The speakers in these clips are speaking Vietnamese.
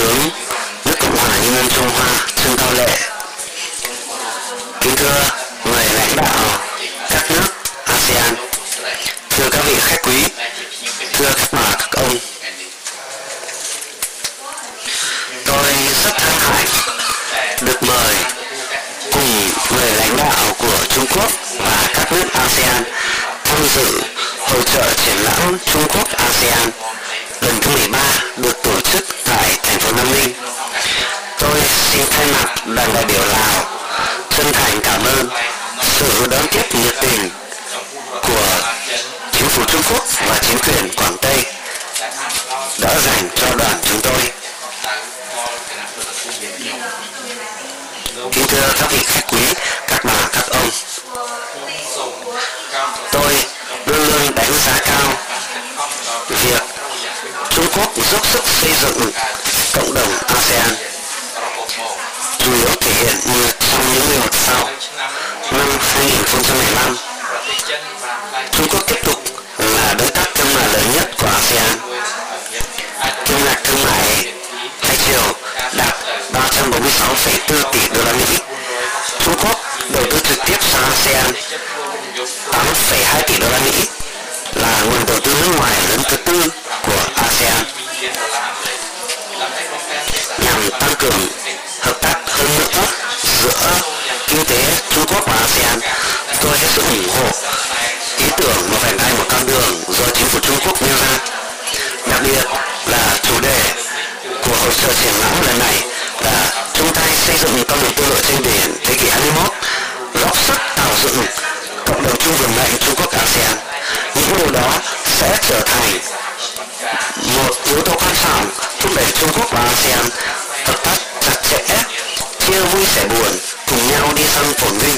tướng nước Cộng hòa Nhân dân Trung Hoa Trương Cao Lệ, kính thưa người lãnh đạo các nước ASEAN, thưa các vị khách quý, thưa các bà các ông, tôi rất hân hạnh được mời cùng người lãnh đạo của Trung Quốc và các nước ASEAN tham dự hội chợ triển lãm Trung Quốc ASEAN lần thứ 13 được tổ chức tại thành phố Nam Ninh. Tôi xin thay mặt đoàn đại biểu Lào chân thành cảm ơn sự đón tiếp nhiệt tình của chính phủ Trung Quốc và chính quyền Quảng Tây đã dành cho đoàn chúng tôi. Kính thưa các vị khách quý, các bà, các ông, tôi luôn luôn đánh giá cao việc Trung Quốc dốc sức xây dựng cộng đồng ASEAN, chủ yếu thể hiện như trong những năm sau. Năm 2015, Trung Quốc tiếp tục là đối tác thương mại lớn nhất của ASEAN. Kim ngạch thương mại hai chiều đạt 346,4 tỷ đô la Mỹ. Trung Quốc đầu tư trực tiếp sang ASEAN 8,2 tỷ đô la Mỹ, là nguồn đầu tư nước ngoài lớn thứ tư của ASEAN. Nhằm tăng cường hợp tác hơn nữa giữa kinh tế Trung Quốc và ASEAN, tôi hết sức ủng hộ ý tưởng một vành đai một con đường do chính phủ Trung Quốc nêu ra. Đặc biệt là chủ đề của hội chợ triển lãm lần này là chung tay xây dựng con đường tư lộ trên biển thế kỷ 21, góp sức tạo dựng cộng đồng chung vững mạnh Trung Quốc ASEAN. Những điều đó sẽ trở thành một yếu tố quan trọng thúc đẩy Trung Quốc và ASEAN hợp tác chặt chẽ, chia vui sẻ buồn, cùng nhau đi sang phồn vinh.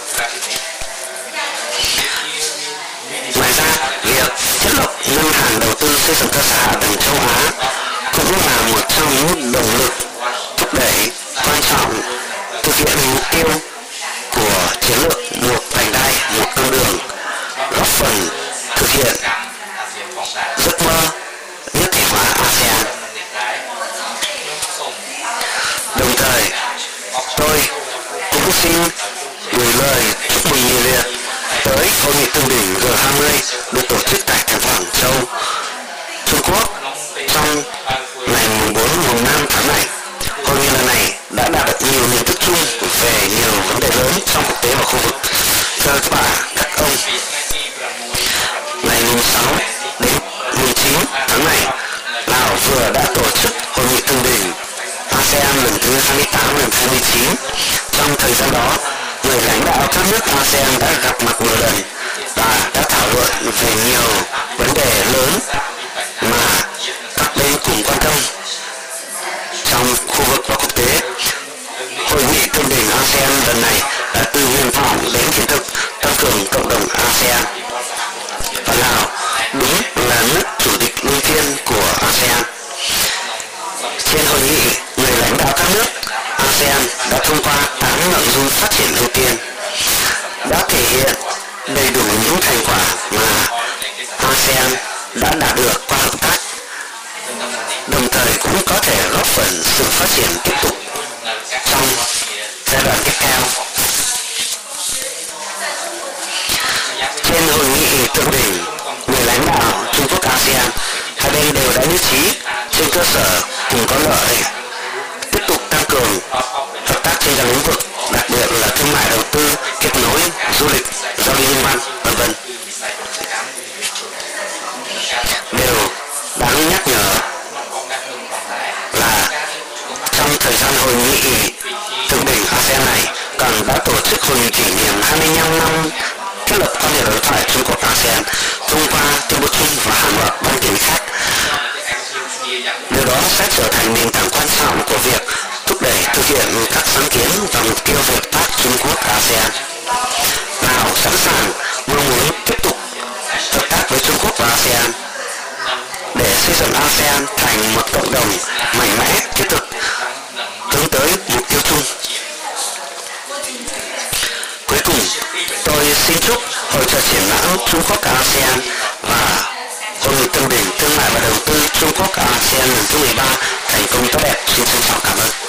Ngoài ra, việc thiết lập ngân hàng đầu tư xây dựng cơ sở hạ tầng châu Á cũng là một trong những động lực thúc đẩy quan trọng thực hiện mục tiêu của chiến lược một vành đai một con đường, góp phần thực hiện giấc mơ nhất thể hóa ASEAN. Đồng thời, tôi cũng xin gửi lời chúc mừng nhiệt liệt tới hội nghị thượng đỉnh G20 được tổ chức tại thành phố Hàng Châu, Trung Quốc trong ngày 4-5 tháng này. Hội nghị lần này đã đạt được nhiều nhận thức chung về nhiều vấn đề lớn trong quốc tế và khu vực. Thưa các bạn, các ông, ngày 6 đến 9 tháng này, Lào vừa đã tổ chức hội nghị thượng đỉnh ASEAN lần thứ 28 lần 29. Trong thời gian đó, người lãnh đạo các nước ASEAN đã gặp mặt nhiều lần và đã thảo luận về nhiều vấn đề lớn mà các bên cùng quan tâm trong khu vực và quốc tế. Hội nghị thượng đỉnh ASEAN lần này đã từ nguyện vọng đến hiện thực tăng cường cộng đồng ASEAN. Và Lào đúng là nước chủ tịch luân phiên của ASEAN. Trên hội nghị, người lãnh đạo các nước ASEAN đã thông qua 8 nội dung phát triển ưu tiên, đã thể hiện đầy đủ những thành quả mà ASEAN đã đạt được qua hợp tác, đồng thời cũng có thể góp phần sự phát triển tiếp tục trong giai đoạn tiếp theo. Trên hội nghị thượng đỉnh, người lãnh đạo Trung Quốc ASEAN, hai bên đều đã nhất trí trên cơ sở cùng có lợi tiếp tục tăng cường hợp tác trên các lĩnh vực, đặc biệt là thương mại đầu tư, kết nối, du lịch, giao lưu nhân văn, v.v. Điều đáng nhắc nhở là trong thời gian hội nghị thượng đỉnh ASEAN này còn đã tổ chức hội nghị kỷ niệm 25 năm thiết lập quan hệ đối thoại Trung Quốc ASEAN, thông qua tuyên bố chung và hàng loạt văn kiện khác. Điều đó sẽ trở thành nền tảng quan trọng của việc thúc đẩy thực hiện các sáng kiến và mục tiêu hợp tác Trung Quốc ASEAN. Lào sẵn sàng mong muốn tiếp tục hợp tác với Trung Quốc và ASEAN để xây dựng ASEAN thành một cộng đồng mạnh mẽ, thiết thực, hướng tới mục tiêu chung. Cuối cùng, tôi xin chúc hội chợ triển lãm Trung Quốc ASEAN và hội nghị thượng đỉnh thương mại và đầu tư Trung Quốc ASEAN lần thứ 13 thành công tốt đẹp. Xin trân trọng cảm ơn.